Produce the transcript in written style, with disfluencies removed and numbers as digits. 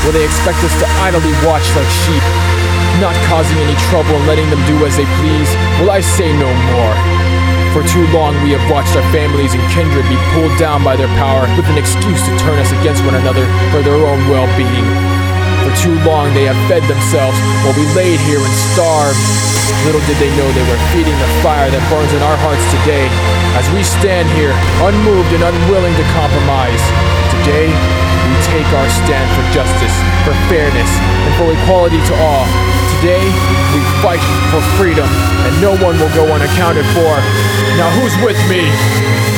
Will they expect us to idly watch like sheep, not causing any trouble and letting them do as they please? Will I say no more? For too long we have watched our families and kindred be pulled down by their power with an excuse to turn us against one another for their own well-being. For too long they have fed themselves while we laid here and starved. Little did they know they were feeding the fire that burns in our hearts today, as we stand here, unmoved and unwilling to compromise. Today, we take our stand for justice, for fairness, and for equality to all. Today, we fight for freedom, and no one will go unaccounted for. Now who's with me?